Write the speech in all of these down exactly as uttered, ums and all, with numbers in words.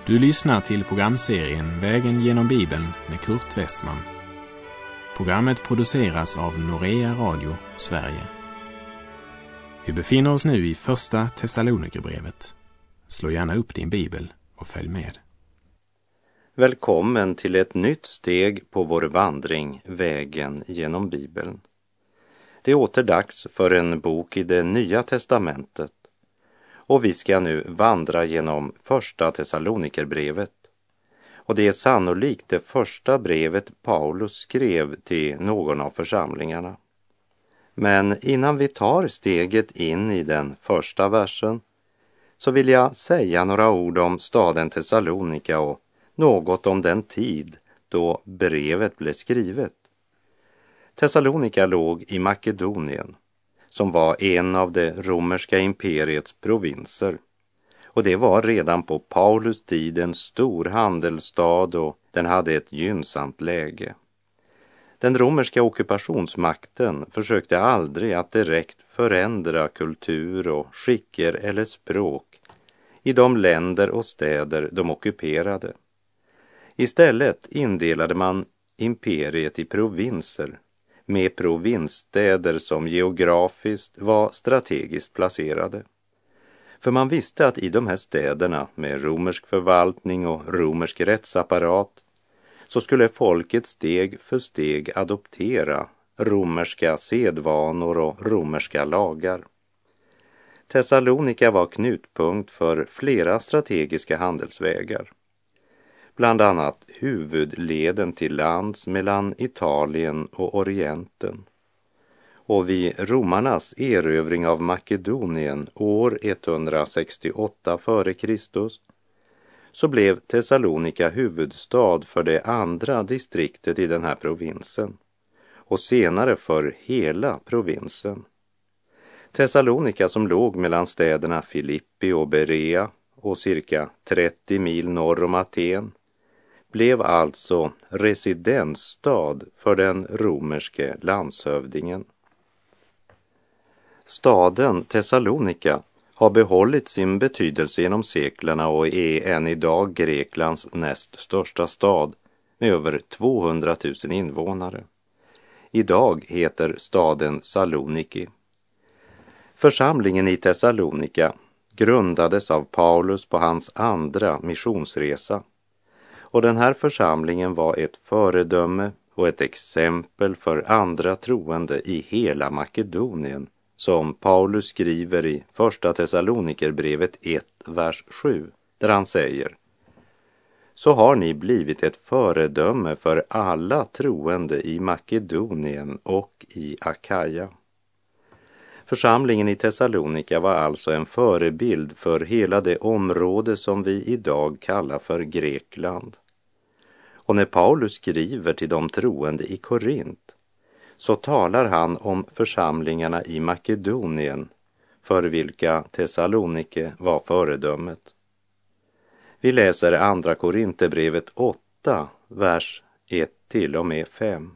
Du lyssnar till programserien Vägen genom Bibeln med Kurt Westman. Programmet produceras av Norea Radio, Sverige. Vi befinner oss nu i första Thessalonikerbrevet. Slå gärna upp din bibel och följ med. Välkommen till ett nytt steg på vår vandring, Vägen genom Bibeln. Det är åter dags för en bok i det Nya testamentet. Och vi ska nu vandra genom första Thessalonikerbrevet. Och det är sannolikt det första brevet Paulus skrev till någon av församlingarna. Men innan vi tar steget in i den första versen så vill jag säga några ord om staden Thessalonika och något om den tid då brevet blev skrivet. Thessalonika låg i Makedonien, som var en av det romerska imperiets provinser. Och det var redan på Paulus tid en stor handelsstad och den hade ett gynnsamt läge. Den romerska ockupationsmakten försökte aldrig att direkt förändra kultur och skicker eller språk i de länder och städer de ockuperade. Istället indelade man imperiet i provinser med provinsstäder som geografiskt var strategiskt placerade. För man visste att i de här städerna med romersk förvaltning och romersk rättsapparat så skulle folket steg för steg adoptera romerska sedvanor och romerska lagar. Thessalonika var knutpunkt för flera strategiska handelsvägar. Bland annat huvudleden till lands mellan Italien och Orienten. Och vid romarnas erövring av Makedonien år etthundrasextioåtta före Kristus så blev Thessalonika huvudstad för det andra distriktet i den här provinsen och senare för hela provinsen. Thessalonika, som låg mellan städerna Filippi och Berea och cirka trettio mil norr om Aten, blev alltså residensstad för den romerske landshövdingen. Staden Thessalonika har behållit sin betydelse genom seklerna och är än idag Greklands näst största stad med över tvåhundratusen invånare. Idag heter staden Saloniki. Församlingen i Thessalonika grundades av Paulus på hans andra missionsresa. Och den här församlingen var ett föredöme och ett exempel för andra troende i hela Makedonien, som Paulus skriver i första Thessalonikerbrevet ett, vers sju, där han säger: Så har ni blivit ett föredöme för alla troende i Makedonien och i Akaja. Församlingen i Thessalonika var alltså en förebild för hela det område som vi idag kallar för Grekland. Och när Paulus skriver till de troende i Korint så talar han om församlingarna i Makedonien för vilka Thessalonike var föredömet. Vi läser andra Korinthierbrevet åtta, vers ett till och med fem.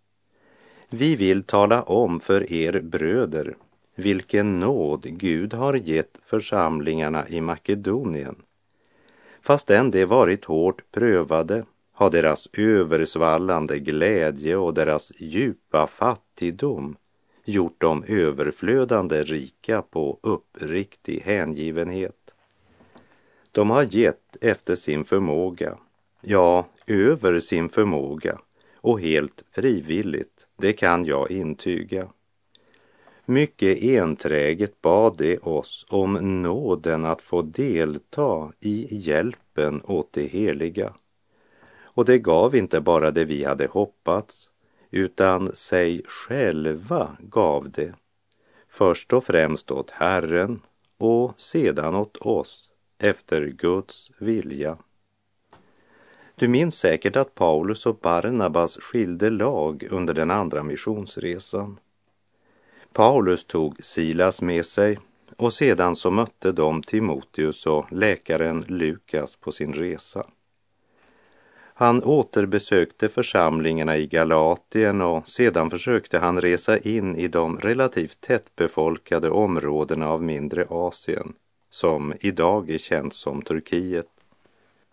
Vi vill tala om för er bröder vilken nåd Gud har gett församlingarna i Makedonien. Fastän de varit hårt prövade har deras översvallande glädje och deras djupa fattigdom gjort dem överflödande rika på uppriktig hängivenhet. De har gett efter sin förmåga, ja, över sin förmåga och helt frivilligt, det kan jag intyga. Mycket enträget bad de oss om nåden att få delta i hjälpen åt det heliga. Och det gav inte bara det vi hade hoppats, utan sig själva gav det. Först och främst åt Herren och sedan åt oss, efter Guds vilja. Du minns säkert att Paulus och Barnabas skilde lag under den andra missionsresan. Paulus tog Silas med sig och sedan så mötte de Timoteus och läkaren Lukas på sin resa. Han återbesökte församlingarna i Galatien och sedan försökte han resa in i de relativt tättbefolkade områdena av mindre Asien, som idag är känt som Turkiet.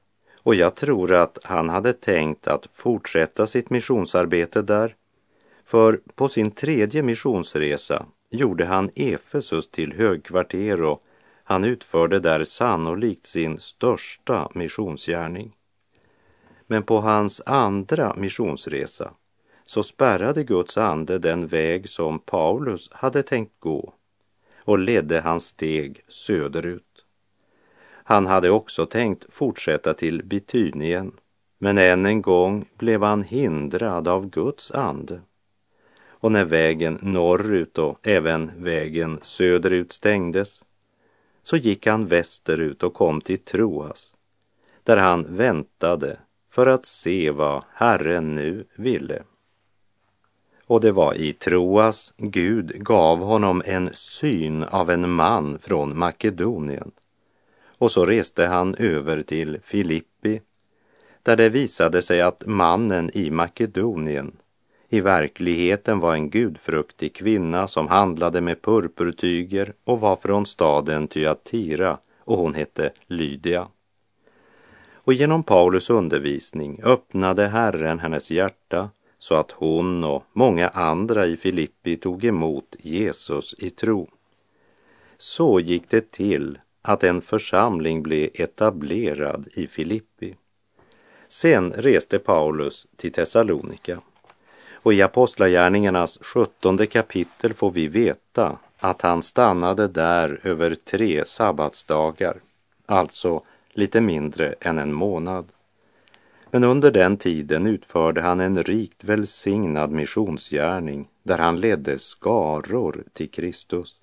Och jag tror att han hade tänkt att fortsätta sitt missionsarbete där, för på sin tredje missionsresa gjorde han Efesus till högkvarter och han utförde där sannolikt sin största missionsgärning. Men på hans andra missionsresa så spärrade Guds ande den väg som Paulus hade tänkt gå och ledde hans steg söderut. Han hade också tänkt fortsätta till Bitynien, men än en gång blev han hindrad av Guds ande. Och när vägen norrut och även vägen söderut stängdes, så gick han västerut och kom till Troas, där han väntade för att se vad Herren nu ville. Och det var i Troas Gud gav honom en syn av en man från Makedonien. Och så reste han över till Filippi, där det visade sig att mannen i Makedonien i verkligheten var en gudfruktig kvinna som handlade med purpurtyger och var från staden Thyatira, och hon hette Lydia. Och genom Paulus undervisning öppnade Herren hennes hjärta så att hon och många andra i Filippi tog emot Jesus i tro. Så gick det till att en församling blev etablerad i Filippi. Sen reste Paulus till Thessalonika. Och i Apostlagärningarnas sjuttonde kapitel får vi veta att han stannade där över tre sabbatsdagar, alltså lite mindre än en månad. Men under den tiden utförde han en rikt välsignad missionsgärning där han ledde skaror till Kristus.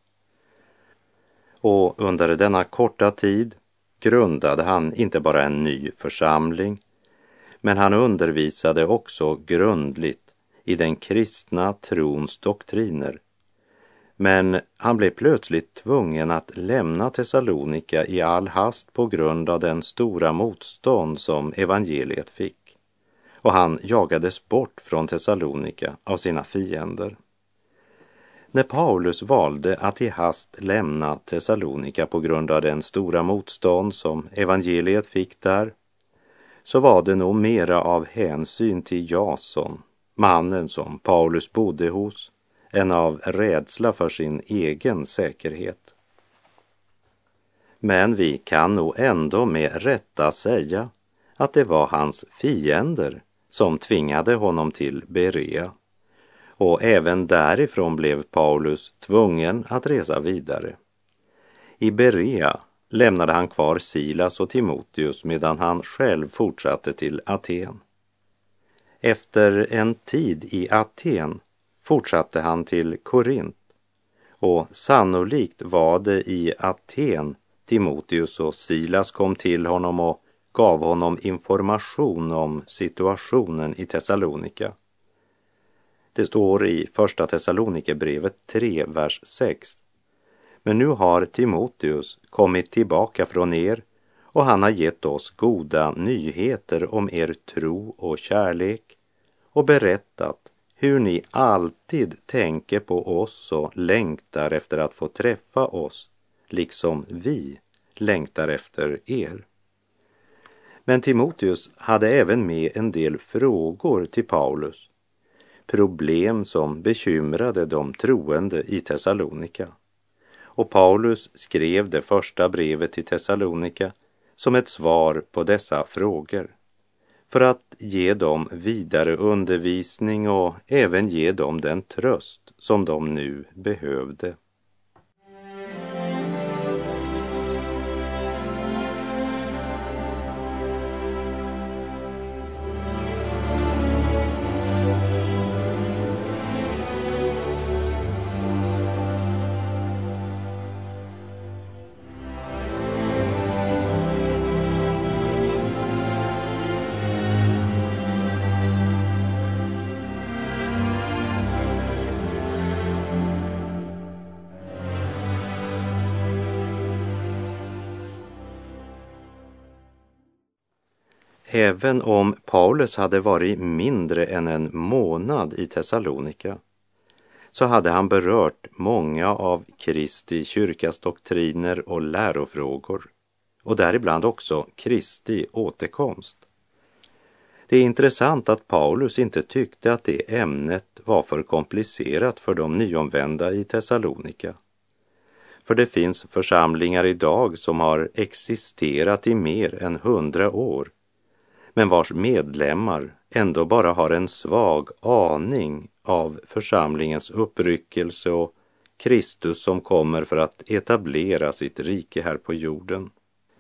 Och under denna korta tid grundade han inte bara en ny församling, men han undervisade också grundligt i den kristna trons doktriner. Men han blev plötsligt tvungen att lämna Thessalonika i all hast på grund av den stora motstånd som evangeliet fick. Och han jagades bort från Thessalonika av sina fiender. När Paulus valde att i hast lämna Thessalonika på grund av den stora motstånd som evangeliet fick där, så var det nog mera av hänsyn till Jason, mannen som Paulus bodde hos, än av rädsla för sin egen säkerhet. Men vi kan nog ändå med rätta säga att det var hans fiender som tvingade honom till Berea. Och även därifrån blev Paulus tvungen att resa vidare. I Berea lämnade han kvar Silas och Timoteus medan han själv fortsatte till Aten. Efter en tid i Aten fortsatte han till Korint, och sannolikt var det i Aten Timoteus och Silas kom till honom och gav honom information om situationen i Thessalonika. Det står i första Thessalonikerbrevet tre, vers sex. Men nu har Timoteus kommit tillbaka från er, och han har gett oss goda nyheter om er tro och kärlek och berättat hur ni alltid tänker på oss och längtar efter att få träffa oss, liksom vi längtar efter er. Men Timoteus hade även med en del frågor till Paulus, problem som bekymrade de troende i Thessalonika. Och Paulus skrev det första brevet till Thessalonika som ett svar på dessa frågor, för att ge dem vidare undervisning och även ge dem den tröst som de nu behövde. Även om Paulus hade varit mindre än en månad i Thessalonika, så hade han berört många av Kristi kyrkas doktriner och lärofrågor. och däribland också Kristi återkomst. Det är intressant att Paulus inte tyckte att det ämnet var för komplicerat för de nyomvända i Thessalonika. För det finns församlingar idag som har existerat i mer än hundra år, men vars medlemmar ändå bara har en svag aning av församlingens uppryckelse och Kristus som kommer för att etablera sitt rike här på jorden.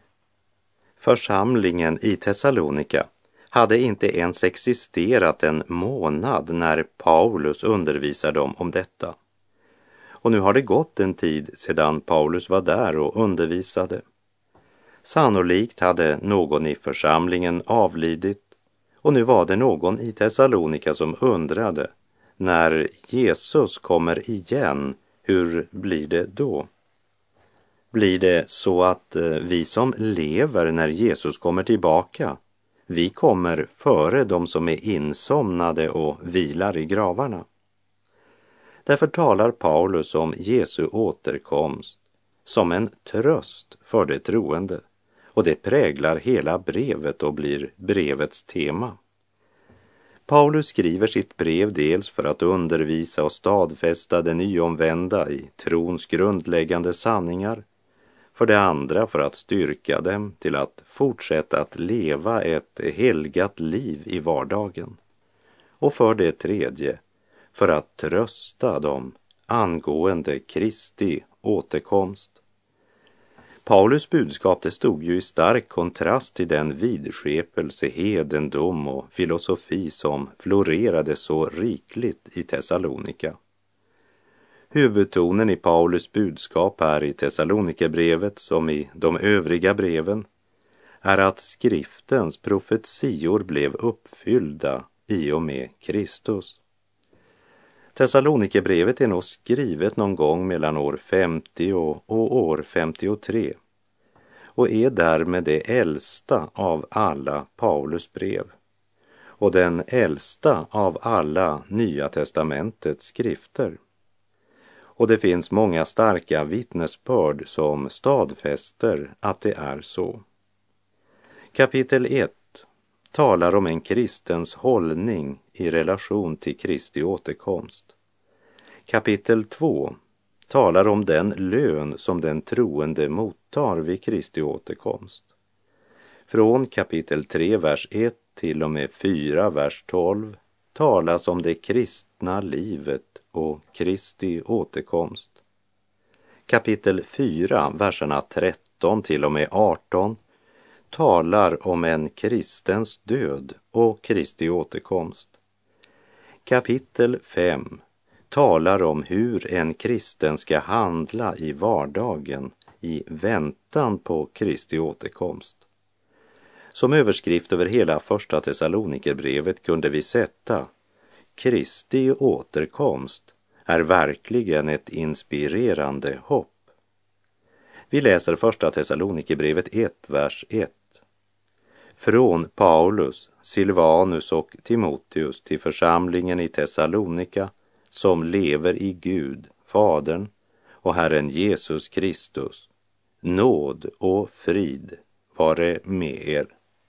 Församlingen i Thessalonika hade inte ens existerat en månad när Paulus undervisar dem om detta. Och nu har det gått en tid sedan Paulus var där och undervisade. Sannolikt hade någon i församlingen avlidit, och nu var det någon i Thessalonika som undrade, när Jesus kommer igen, hur blir det då? Blir det så att vi som lever när Jesus kommer tillbaka, vi kommer före de som är insomnade och vilar i gravarna? Därför talar Paulus om Jesu återkomst som en tröst för det troende, och det präglar hela brevet och blir brevets tema. Paulus skriver sitt brev dels för att undervisa och stadfästa de nyomvända i trons grundläggande sanningar, för det andra för att styrka dem till att fortsätta att leva ett helgat liv i vardagen, och för det tredje för att trösta dem angående Kristi återkomst. Paulus budskap det stod ju i stark kontrast till den vidskepelse, hedendom och filosofi som florerade så rikligt i Thessalonika. Huvudtonen i Paulus budskap här i Thessalonikerbrevet som i de övriga breven är att skriftens profetior blev uppfyllda i och med Kristus. Thessalonikerbrevet är nog skrivet någon gång mellan år femtio och, och år femtiotre och är därmed det äldsta av alla Paulus brev och den äldsta av alla Nya testamentets skrifter. Och det finns många starka vittnesbörd som stadfäster att det är så. Kapitel ett talar om en kristens hållning i relation till Kristi återkomst. Kapitel två talar om den lön som den troende mottar vid Kristi återkomst. Från kapitel tre, vers ett till och med fyra, vers tolv talas om det kristna livet och Kristi återkomst. Kapitel fyra, verserna tretton till och med arton talar om en kristens död och Kristi återkomst. Kapitel fem talar om hur en kristen ska handla i vardagen i väntan på Kristi återkomst. Som överskrift över hela första Thessalonikerbrevet kunde vi sätta: Kristi återkomst är verkligen ett inspirerande hopp. Vi läser första Thessalonikerbrevet ett, vers ett. Från Paulus, Silvanus och Timoteus till församlingen i Thessalonika som lever i Gud, Fadern och Herren Jesus Kristus. Nåd och frid vare med er.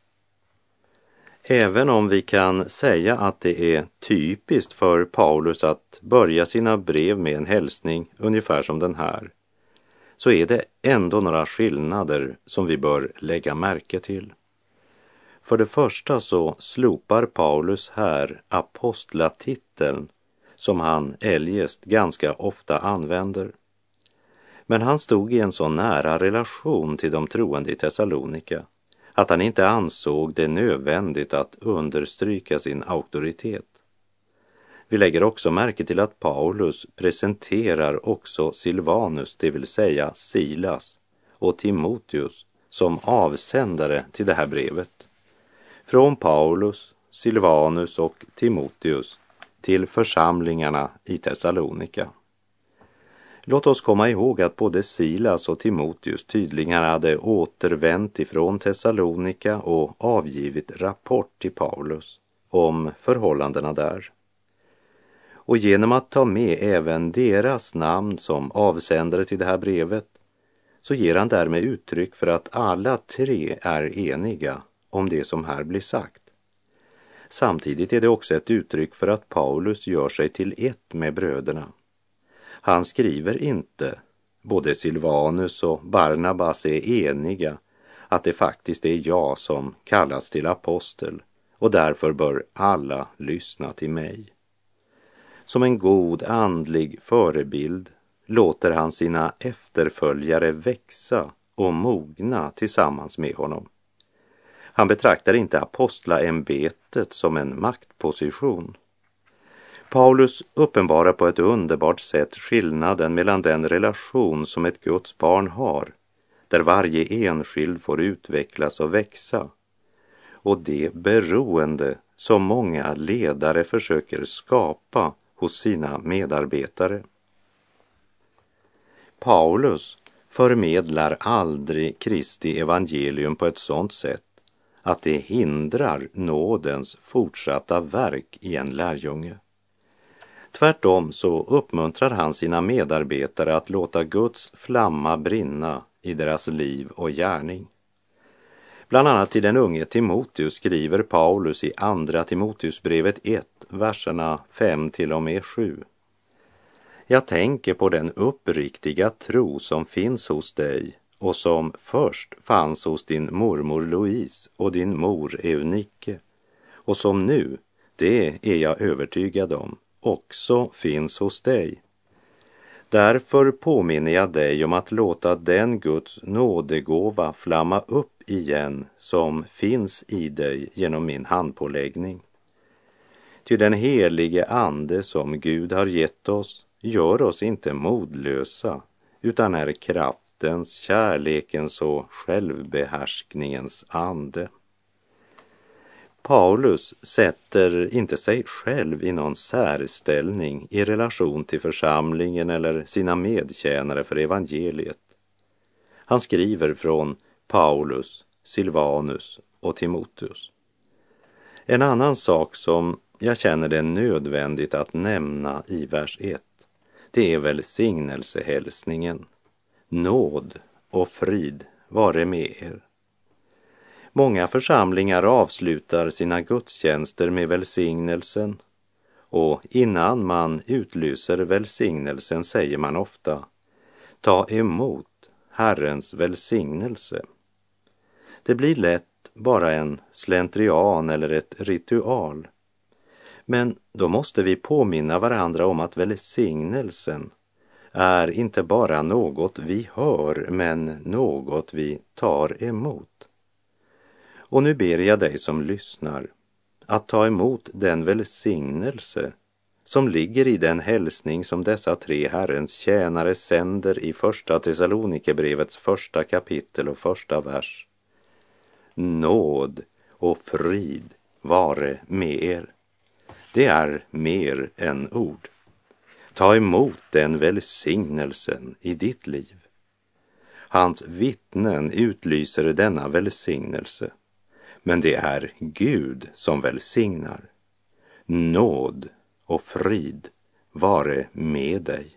Även om vi kan säga att det är typiskt för Paulus att börja sina brev med en hälsning ungefär som den här, så är det ändå några skillnader som vi bör lägga märke till. För det första så slopar Paulus här apostlatiteln som han eljest ganska ofta använder. Men han stod i en så nära relation till de troende i Thessalonika att han inte ansåg det nödvändigt att understryka sin auktoritet. Vi lägger också märke till att Paulus presenterar också Silvanus, det vill säga Silas, och Timoteus som avsändare till det här brevet. Från Paulus, Silvanus och Timoteus till församlingarna i Thessalonika. Låt oss komma ihåg att både Silas och Timoteus tydligen hade återvänt ifrån Thessalonika och avgivit rapport till Paulus om förhållandena där. Och genom att ta med även deras namn som avsändare till det här brevet så ger han därmed uttryck för att alla tre är eniga om det som här blir sagt. Samtidigt är det också ett uttryck för att Paulus gör sig till ett med bröderna. Han skriver inte, både Silvanus och Barnabas är eniga, att det faktiskt är jag som kallas till apostel och därför bör alla lyssna till mig. Som en god andlig förebild låter han sina efterföljare växa och mogna tillsammans med honom. Han betraktar inte apostlaämbetet som en maktposition. Paulus uppenbarar på ett underbart sätt skillnaden mellan den relation som ett Guds barn har, där varje enskild får utvecklas och växa, och det beroende som många ledare försöker skapa hos sina medarbetare. Paulus förmedlar aldrig Kristi evangelium på ett sådant sätt att det hindrar nådens fortsatta verk i en lärjunge. Tvärtom så uppmuntrar han sina medarbetare att låta Guds flamma brinna i deras liv och gärning. Bland annat till den unge Timoteus skriver Paulus i andra Timoteusbrevet ett, verserna fem till och med sju. Jag tänker på den uppriktiga tro som finns hos dig och som först fanns hos din mormor Louise och din mor Eunike, och som nu, det är jag övertygad om, också finns hos dig. Därför påminner jag dig om att låta den Guds nådegåva flamma upp igen som finns i dig genom min handpåläggning. Ty den helige ande som Gud har gett oss gör oss inte modlösa, utan är kraftens, kärlekens och självbehärskningens ande. Paulus sätter inte sig själv i någon särställning i relation till församlingen eller sina medtjänare för evangeliet. Han skriver från Paulus, Silvanus och Timoteus. En annan sak som jag känner det nödvändigt att nämna i vers ett, det är välsignelsehälsningen. Nåd och frid vare med er. Många församlingar avslutar sina gudstjänster med välsignelsen, och innan man utlyser välsignelsen säger man ofta: ta emot Herrens välsignelse. Det blir lätt bara en slentrian eller ett ritual. Men då måste vi påminna varandra om att välsignelsen är inte bara något vi hör, men något vi tar emot. Och nu ber jag dig som lyssnar att ta emot den välsignelse som ligger i den hälsning som dessa tre Herrens tjänare sänder i första Thessalonikerbrevets första kapitel och första vers. Nåd och frid vare med er. Det är mer än ord. Ta emot den välsignelsen i ditt liv. Hans vittnen utlyser denna välsignelse, men det är Gud som välsignar. Nåd och frid vare med dig.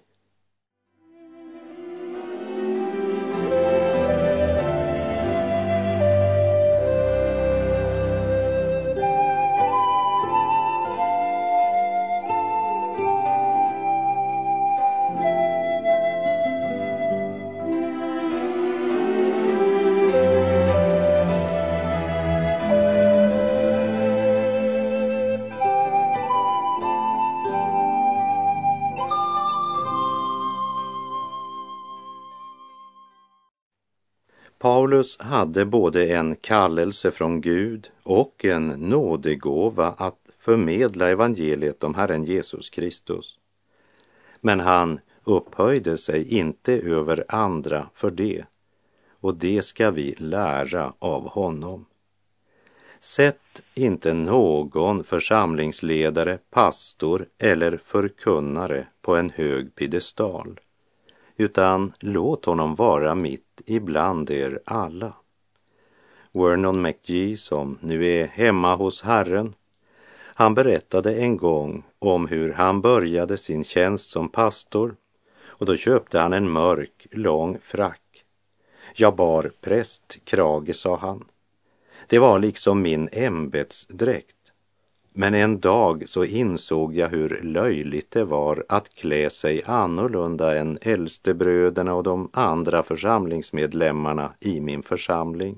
Paulus hade både en kallelse från Gud och en nådegåva att förmedla evangeliet om Herren Jesus Kristus. Men han upphöjde sig inte över andra för det, och det ska vi lära av honom. Sätt inte någon församlingsledare, pastor eller förkunnare på en hög piedestal, utan låt honom vara mitt ibland er alla. Vernon McGee, som nu är hemma hos Herren, han berättade en gång om hur han började sin tjänst som pastor, och då köpte han en mörk, lång frack. Jag bar prästkrage, sa han. Det var liksom min ämbetsdräkt. Men en dag så insåg jag hur löjligt det var att klä sig annorlunda än äldstebröderna och de andra församlingsmedlemmarna i min församling.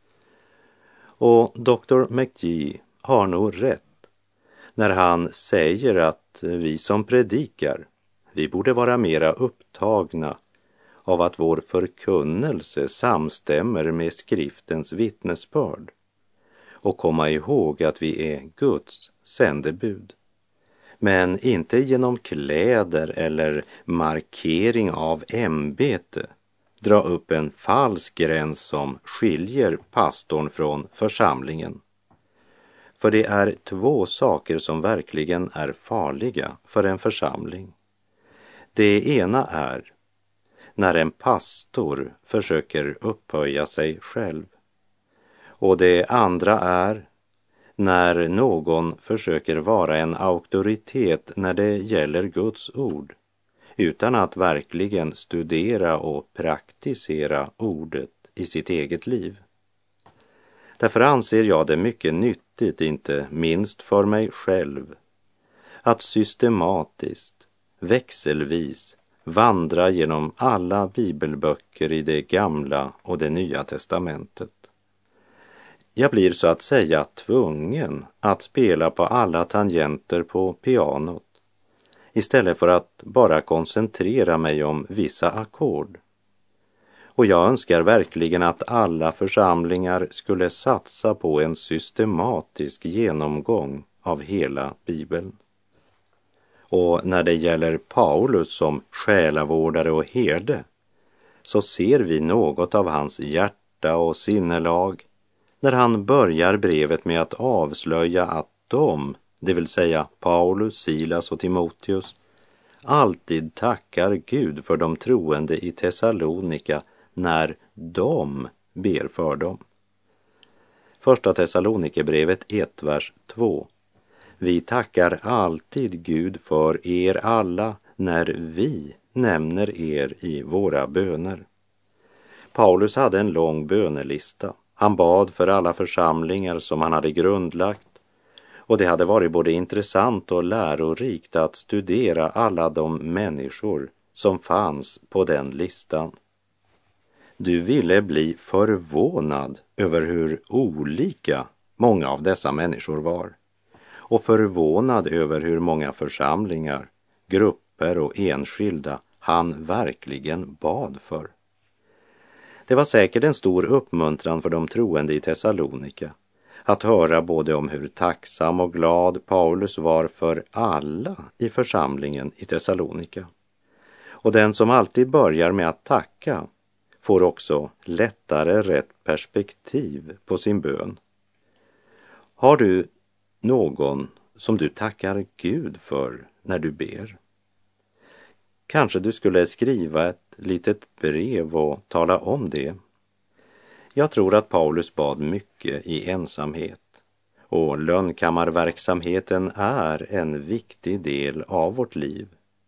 Och doktor McGee har nog rätt när han säger att vi som predikar, vi borde vara mera upptagna av att vår förkunnelse samstämmer med skriftens vittnesbörd och komma ihåg att vi är Guds sändebud, men inte genom kläder eller markering av ämbete dra upp en falsk gräns som skiljer pastorn från församlingen. För det är två saker som verkligen är farliga för en församling. Det ena är när en pastor försöker upphöja sig själv. Och det andra är när någon försöker vara en auktoritet när det gäller Guds ord, utan att verkligen studera och praktisera ordet i sitt eget liv. Därför anser jag det mycket nyttigt, inte minst för mig själv, att systematiskt, växelvis vandra genom alla bibelböcker i det gamla och det nya testamentet. Jag blir så att säga tvungen att spela på alla tangenter på pianot istället för att bara koncentrera mig om vissa ackord. Och jag önskar verkligen att alla församlingar skulle satsa på en systematisk genomgång av hela Bibeln. Och när det gäller Paulus som själavårdare och herde, så ser vi något av hans hjärta och sinnelag när han börjar brevet med att avslöja att de, det vill säga Paulus, Silas och Timoteus, alltid tackar Gud för de troende i Thessalonika när de ber för dem. Första Thessalonikerbrevet ett, vers två. Vi tackar alltid Gud för er alla när vi nämner er i våra böner. Paulus hade en lång bönelista. Han bad för alla församlingar som han hade grundlagt, och det hade varit både intressant och lärorikt att studera alla de människor som fanns på den listan. Du ville bli förvånad över hur olika många av dessa människor var, och förvånad över hur många församlingar, grupper och enskilda han verkligen bad för. Det var säkert en stor uppmuntran för de troende i Thessalonika att höra både om hur tacksam och glad Paulus var för alla i församlingen i Thessalonika. Och den som alltid börjar med att tacka får också lättare rätt perspektiv på sin bön. Har du någon som du tackar Gud för när du ber? Kanske du skulle skriva ett litet brev och tala om det. Jag tror att Paulus bad mycket i ensamhet, och lönnkammarverksamheten är en viktig del av vårt liv.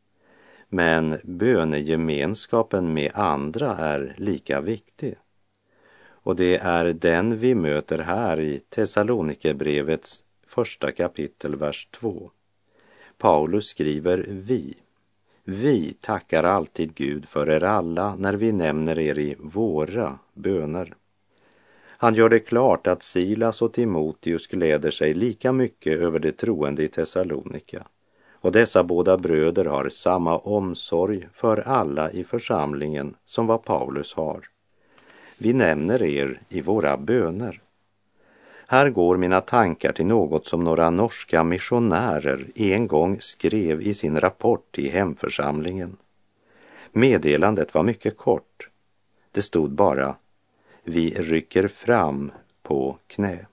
Men bönegemenskapen med andra är lika viktig. Och det är den vi möter här i Thessalonikerbrevets första kapitel, vers två. Paulus skriver vi. Vi tackar alltid Gud för er alla när vi nämner er i våra böner. Han gör det klart att Silas och Timoteus gläder sig lika mycket över det troende i Thessalonika. Och dessa båda bröder har samma omsorg för alla i församlingen som vad Paulus har. Vi nämner er i våra böner. Här går mina tankar till något som några norska missionärer en gång skrev i sin rapport i hemförsamlingen. Meddelandet var mycket kort. Det stod bara: vi rycker fram på knä.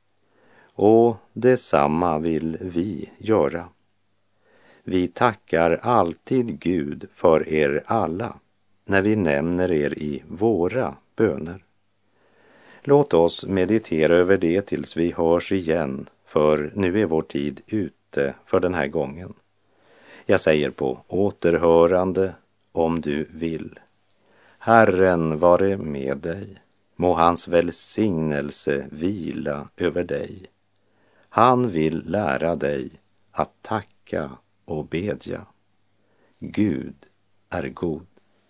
Och detsamma vill vi göra. Vi tackar alltid Gud för er alla när vi nämner er i våra böner. Låt oss meditera över det tills vi hörs igen, för nu är vår tid ute för den här gången. Jag säger på återhörande om du vill. Herren vare med dig. Må hans välsignelse vila över dig. Han vill lära dig att tacka och bedja. Gud är god.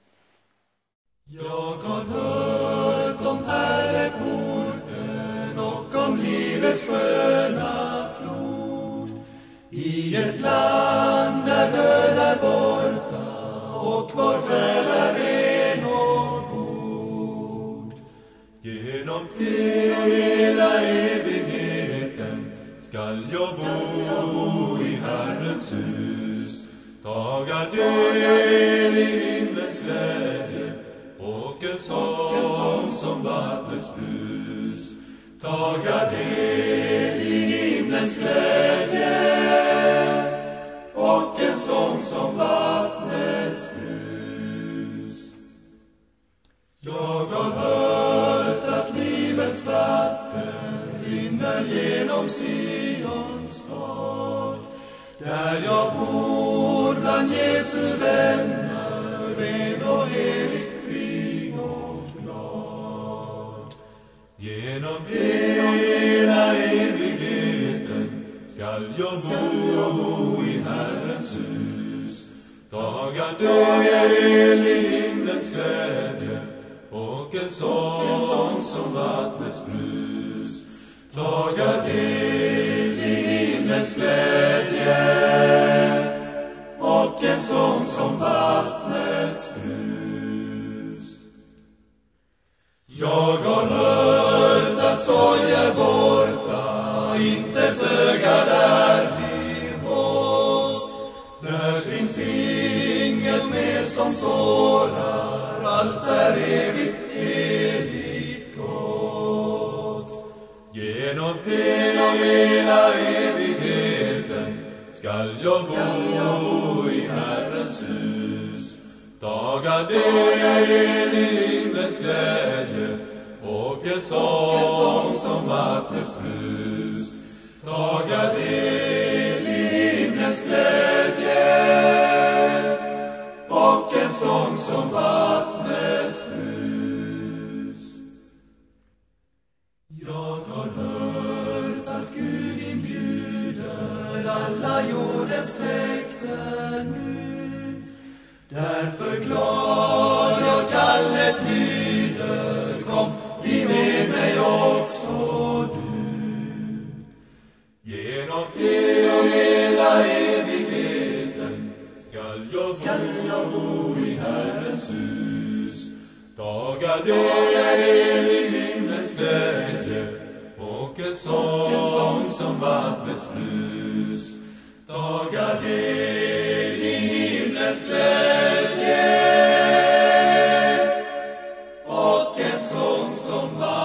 Jag har hört om pärleporten och om livets sköna flod. I ett land där död är borta och vår själ är ren och god. Genom hela evigheten skall jag bo i Herrens hus. Taga del i himlens glädje och en sång som vattnets brus. Taga del i himlens glädje och en sång som vattnets brus. Jag har hört att livets vatten rinner genom Sions stad. Där jag bor bland Jesu vänner, ren och heligt, fri och glad. Genom hela evigheten skall jag bo i Herrens hus. Taga del i himlens glädje och en sång som vattnets brus. Taga del i himlens glädje och en sång som vattnets brus. Jag har hört att sorg är borta, inte ett öga där blir bort. Där finns inget mer som sårar, allt är evigt, evigt gott. Genom hela evigheten skall jag bo i Herrens hus. Taga del i himlens glädje och en sång som vattnets brus. Taga del i himlens glädje och en sång som vattnets brus. Jag har hört att Gud inbjuder alla jordens släkter nu. Därför glad jag kallet lyder, kom, bli med mig också du. Genom hela evigheten skall jag, skall jag bo i Herrens hus. Taga del i himlens glädje och en sång som vattnets brus. Taga del i himlens glädje och en sång som vattnets brus.